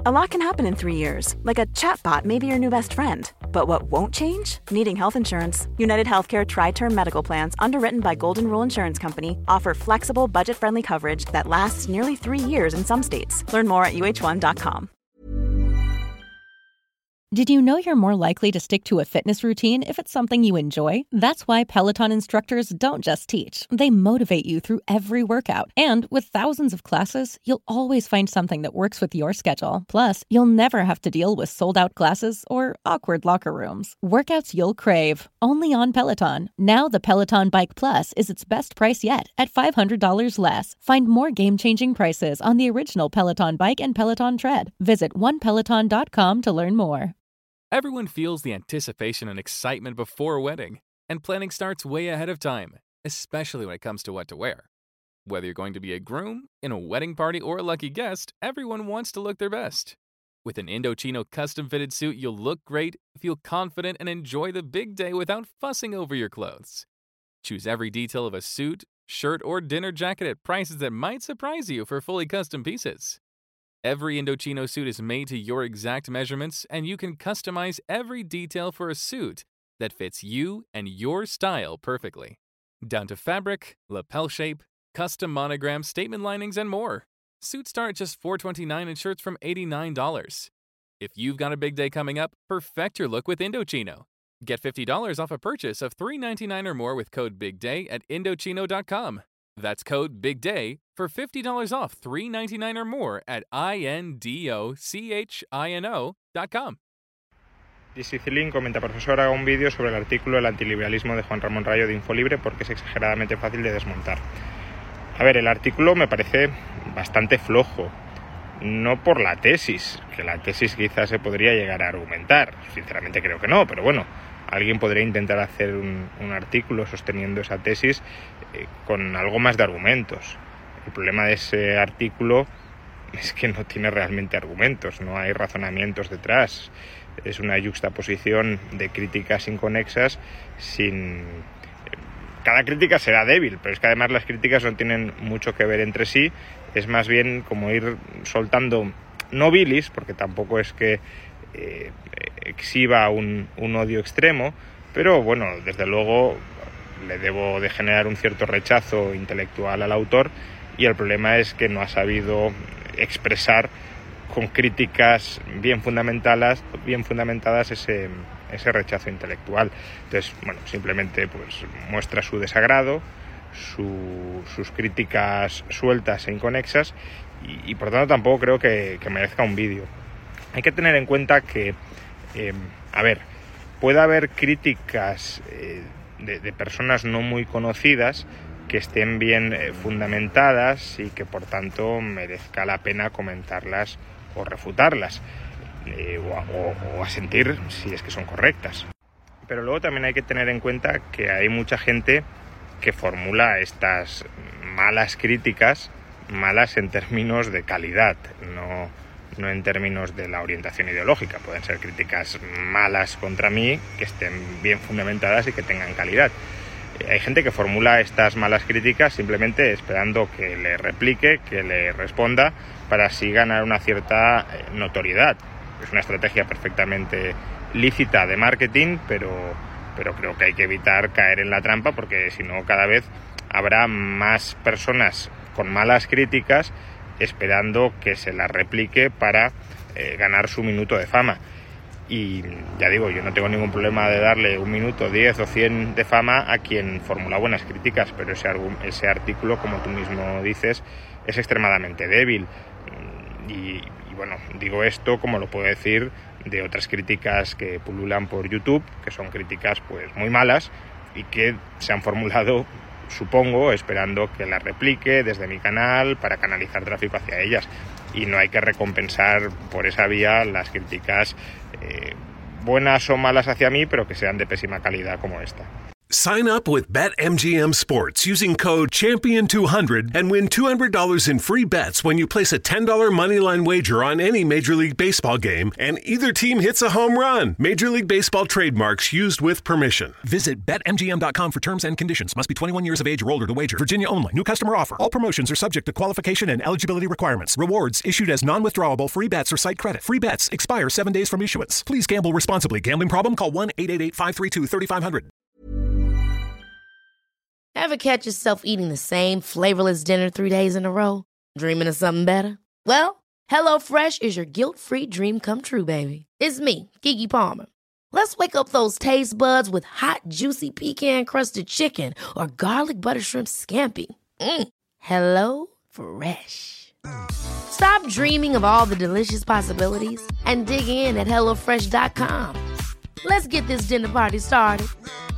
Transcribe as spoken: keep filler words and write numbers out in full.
A lot can happen in three years, like a chatbot may be your new best friend. But what won't change? Needing health insurance. United Healthcare Tri-Term Medical Plans, underwritten by Golden Rule Insurance Company, offer flexible, budget-friendly coverage that lasts nearly three years in some states. Learn more at U H one dot com. Did you know you're more likely to stick to a fitness routine if it's something you enjoy? That's why Peloton instructors don't just teach. They motivate you through every workout. And with thousands of classes, you'll always find something that works with your schedule. Plus, you'll never have to deal with sold-out classes or awkward locker rooms. Workouts you'll crave, only on Peloton. Now the Peloton Bike Plus is its best price yet at five hundred dollars less. Find more game-changing prices on the original Peloton Bike and Peloton Tread. Visit one peloton dot com to learn more. Everyone feels the anticipation and excitement before a wedding, and planning starts way ahead of time, especially when it comes to what to wear. Whether you're going to be a groom, in a wedding party, or a lucky guest, everyone wants to look their best. With an Indochino custom-fitted suit, you'll look great, feel confident, and enjoy the big day without fussing over your clothes. Choose every detail of a suit, shirt, or dinner jacket at prices that might surprise you for fully custom pieces. Every Indochino suit is made to your exact measurements, and you can customize every detail for a suit that fits you and your style perfectly. Down to fabric, lapel shape, custom monogram, statement linings, and more. Suits start at just four dollars and twenty-nine cents and shirts from eighty-nine dollars. If you've got a big day coming up, perfect your look with Indochino. Get fifty dollars off a purchase of three dollars and ninety-nine cents or more with code BIGDAY at Indochino dot com. That's code BIGDAY for fifty dollars off three dollars and ninety-nine cents or more at I N D O C H I N O dot com. Disicilin comenta: profesor, haga un vídeo sobre el artículo El antiliberalismo de Juan Ramón Rayo de Infolibre porque es exageradamente fácil de desmontar. A ver, el artículo me parece bastante flojo, no por la tesis, que la tesis quizás se podría llegar a argumentar, sinceramente creo que no, pero bueno, alguien podría intentar hacer un, un artículo sosteniendo esa tesis eh, con algo más de argumentos. El problema de ese artículo es que no tiene realmente argumentos, no hay razonamientos detrás. Es una yuxtaposición de críticas inconexas sin... Cada crítica será débil, pero es que además las críticas no tienen mucho que ver entre sí. Es más bien como ir soltando, no bilis, porque tampoco es que eh, exhiba un, un odio extremo, pero bueno, desde luego le debo de generar un cierto rechazo intelectual al autor, y el problema es que no ha sabido expresar con críticas bien fundamentadas, bien fundamentadas ese, ese rechazo intelectual. Entonces, bueno, simplemente pues muestra su desagrado, su, sus críticas sueltas e inconexas, y, y por tanto tampoco creo que, que merezca un vídeo. Hay que tener en cuenta que, eh, a ver, puede haber críticas eh, de, de personas no muy conocidas que estén bien eh, fundamentadas y que por tanto merezca la pena comentarlas o refutarlas, eh, o, o, o asentir si es que son correctas. Pero luego también hay que tener en cuenta que hay mucha gente que formula estas malas críticas, malas en términos de calidad, no, no en términos de la orientación ideológica. Pueden ser críticas malas contra mí que estén bien fundamentadas y que tengan calidad. Hay gente que formula estas malas críticas simplemente esperando que le replique, que le responda, para así ganar una cierta notoriedad. Es una estrategia perfectamente lícita de marketing, pero, pero creo que hay que evitar caer en la trampa, porque si no cada vez habrá más personas con malas críticas esperando que se las replique para eh, ganar su minuto de fama. Y ya digo, yo no tengo ningún problema de darle un minuto, diez o cien de fama a quien formula buenas críticas, pero ese, ese artículo, como tú mismo dices, es extremadamente débil. Y, y bueno, digo esto como lo puedo decir de otras críticas que pululan por YouTube, que son críticas pues muy malas y que se han formulado, supongo, esperando que las replique desde mi canal para canalizar tráfico hacia ellas. Y no hay que recompensar por esa vía las críticas eh, buenas o malas hacia mí, pero que sean de pésima calidad como esta. Sign up with BetMGM Sports using code champion two hundred and win two hundred dollars in free bets when you place a ten dollars moneyline wager on any Major League Baseball game and either team hits a home run. Major League Baseball trademarks used with permission. Visit Bet M G M dot com for terms and conditions. Must be twenty-one years of age or older to wager. Virginia only. New customer offer. All promotions are subject to qualification and eligibility requirements. Rewards issued as non-withdrawable free bets or site credit. Free bets expire seven days from issuance. Please gamble responsibly. Gambling problem? Call one eight eight eight, five three two, three five zero zero. Ever catch yourself eating the same flavorless dinner three days in a row? Dreaming of something better? Well, HelloFresh is your guilt-free dream come true, baby. It's me, Keke Palmer. Let's wake up those taste buds with hot, juicy pecan-crusted chicken or garlic butter shrimp scampi. Mm. Hello Fresh. Stop dreaming of all the delicious possibilities and dig in at hello fresh dot com. Let's get this dinner party started.